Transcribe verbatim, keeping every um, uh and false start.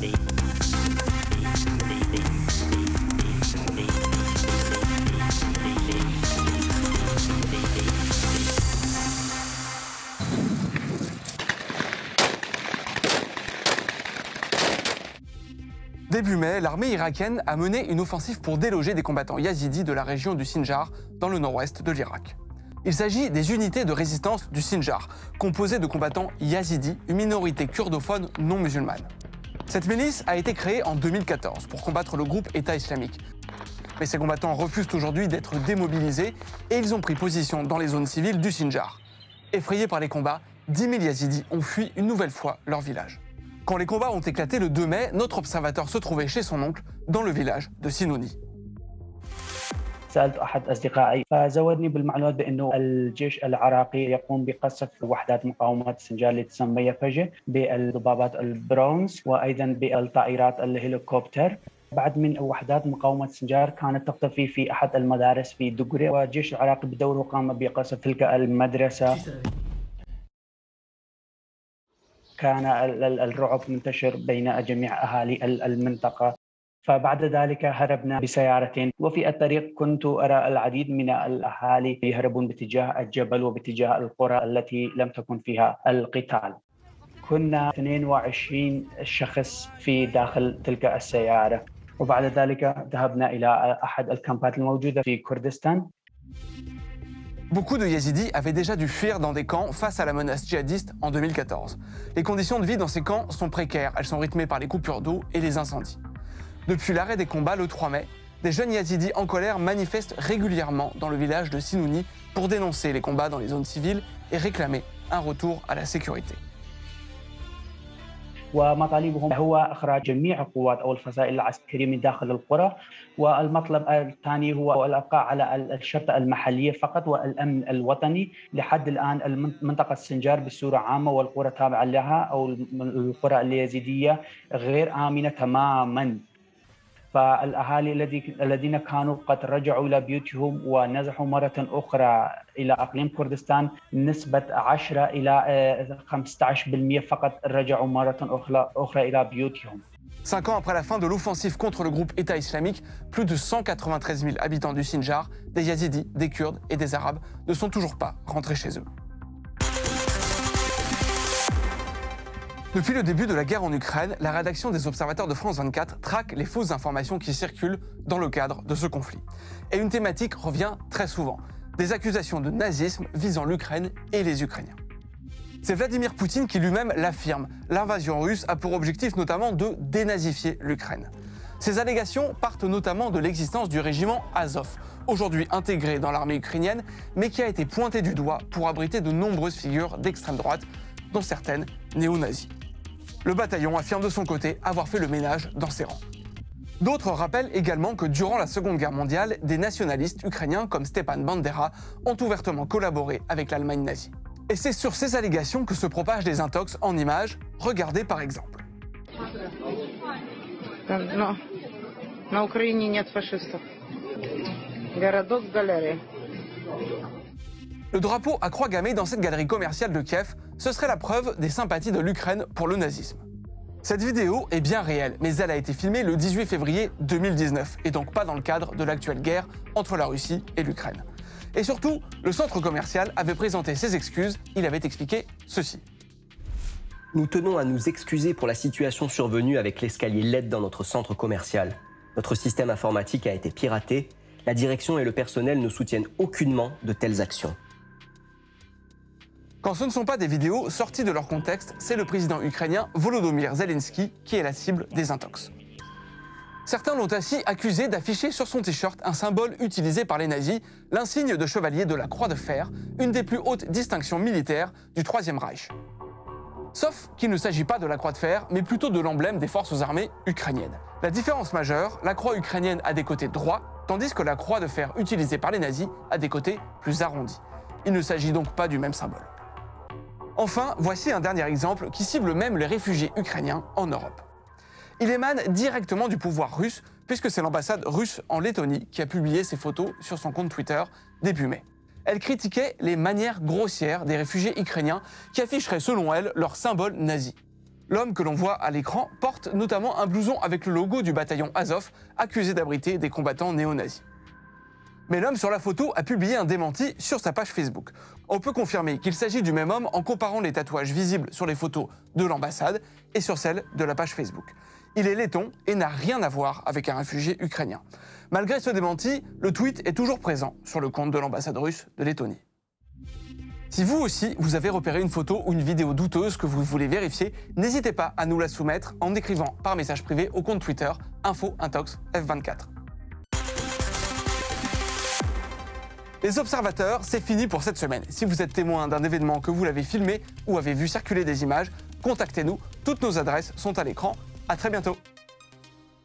Début mai, l'armée irakienne a mené une offensive pour déloger des combattants yazidis de la région du Sinjar, dans le nord-ouest de l'Irak. Il s'agit des unités de résistance du Sinjar, composées de combattants yazidis, une minorité kurdophone non musulmane. Cette milice a été créée en deux mille quatorze pour combattre le groupe État islamique. Mais ces combattants refusent aujourd'hui d'être démobilisés et ils ont pris position dans les zones civiles du Sinjar. Effrayés par les combats, dix mille yazidis ont fui une nouvelle fois leur village. Quand les combats ont éclaté le deux mai, notre observateur se trouvait chez son oncle, dans le village de Sinouni. سألت أحد أصدقائي فزودني بالمعلومات بأنه الجيش العراقي يقوم بقصف وحدات مقاومة السنجار اللي تسمى يفجة بالضبابات البرونز وأيضا بالطائرات الهليكوبتر. بعد من وحدات مقاومة السنجار كانت تختفي في أحد المدارس في دقري والجيش العراقي بدوره قام بقصف تلك المدرسة. كان الرعب منتشر بين جميع أهالي المنطقة. فبعد ذلك هربنا بسيارتين وفي الطريق كنت أرى العديد من الأهالي يهربون باتجاه الجبل وباتجاه القرى التي لم تكن فيها القتال. كنا اثنين وعشرين شخص في داخل تلك السيارة وبعد ذلك ذهبنا إلى أحد الكامبات الموجودة في كردستان. Beaucoup de Yazidis avaient déjà dû fuir dans des camps face à la menace djihadiste en deux mille quatorze. Les conditions de vie dans ces camps sont précaires, elles sont rythmées par les coupures d'eau et les incendies. Depuis l'arrêt des combats le trois mai, des jeunes Yazidis en colère manifestent régulièrement dans le village de Sinouni pour dénoncer les combats dans les zones civiles et réclamer un retour à la sécurité. ومطالبهم هو إخراج جميع القوات أو الفصائل العسكرية من داخل القرى والمطلب الثاني هو الإبقاء على الشرطة المحلية فقط والأمن الوطني. لحد الآن منطقة السنجار بصورة عامة والقرى التابعة لها أو القرى اليزيدية غير آمنة تماماً. فالأهالي الذين كانوا قد رجعوا إلى بيوتهم ونزحوا مرة أخرى إلى أقليم كردستان نسبة عشرة إلى خمسة عشر بالمئة فقط رجعوا مرة أخرى إلى بيوتهم. Cinq ans après la fin de l'offensive contre le groupe État islamique, plus de cent quatre-vingt-treize mille habitants du Sinjar, des Yazidis, des Kurdes et des Arabes, ne sont toujours pas rentrés chez eux. Depuis le début de la guerre en Ukraine, la rédaction des Observateurs de France vingt-quatre traque les fausses informations qui circulent dans le cadre de ce conflit. Et une thématique revient très souvent, des accusations de nazisme visant l'Ukraine et les Ukrainiens. C'est Vladimir Poutine qui lui-même l'affirme. L'invasion russe a pour objectif notamment de dénazifier l'Ukraine. Ces allégations partent notamment de l'existence du régiment Azov, aujourd'hui intégré dans l'armée ukrainienne, mais qui a été pointé du doigt pour abriter de nombreuses figures d'extrême droite, dont certaines néo-nazis. Le bataillon affirme de son côté avoir fait le ménage dans ses rangs. D'autres rappellent également que durant la Seconde Guerre mondiale, des nationalistes ukrainiens comme Stepan Bandera ont ouvertement collaboré avec l'Allemagne nazie. Et c'est sur ces allégations que se propagent des intox en images. Regardez par exemple. Non, на Украине нет фашистов. Городок в галерее. Le drapeau à croix gammée dans cette galerie commerciale de Kiev, ce serait la preuve des sympathies de l'Ukraine pour le nazisme. Cette vidéo est bien réelle, mais elle a été filmée le dix-huit février deux mille dix-neuf, et donc pas dans le cadre de l'actuelle guerre entre la Russie et l'Ukraine. Et surtout, le centre commercial avait présenté ses excuses, il avait expliqué ceci. Nous tenons à nous excuser pour la situation survenue avec l'escalier L E D dans notre centre commercial. Notre système informatique a été piraté, la direction et le personnel ne soutiennent aucunement de telles actions. Quand ce ne sont pas des vidéos sorties de leur contexte, c'est le président ukrainien Volodymyr Zelensky qui est la cible des intox. Certains l'ont ainsi accusé d'afficher sur son t-shirt un symbole utilisé par les nazis, l'insigne de chevalier de la Croix de Fer, une des plus hautes distinctions militaires du Troisième Reich. Sauf qu'il ne s'agit pas de la Croix de Fer, mais plutôt de l'emblème des forces armées ukrainiennes. La différence majeure, la croix ukrainienne a des côtés droits, tandis que la Croix de Fer utilisée par les nazis a des côtés plus arrondis. Il ne s'agit donc pas du même symbole. Enfin, voici un dernier exemple qui cible même les réfugiés ukrainiens en Europe. Il émane directement du pouvoir russe, puisque c'est l'ambassade russe en Lettonie qui a publié ces photos sur son compte Twitter début mai. Elle critiquait les manières grossières des réfugiés ukrainiens qui afficheraient selon elle leur symbole nazi. L'homme que l'on voit à l'écran porte notamment un blouson avec le logo du bataillon Azov, accusé d'abriter des combattants néo-nazis. Mais l'homme sur la photo a publié un démenti sur sa page Facebook. On peut confirmer qu'il s'agit du même homme en comparant les tatouages visibles sur les photos de l'ambassade et sur celles de la page Facebook. Il est letton et n'a rien à voir avec un réfugié ukrainien. Malgré ce démenti, le tweet est toujours présent sur le compte de l'ambassade russe de Lettonie. Si vous aussi, vous avez repéré une photo ou une vidéo douteuse que vous voulez vérifier, n'hésitez pas à nous la soumettre en écrivant par message privé au compte Twitter info intox F vingt-quatre. Les observateurs, c'est fini pour cette semaine. Si vous êtes témoin d'un événement, que vous l'avez filmé ou avez vu circuler des images, contactez-nous. Toutes nos adresses sont à l'écran. À très bientôt.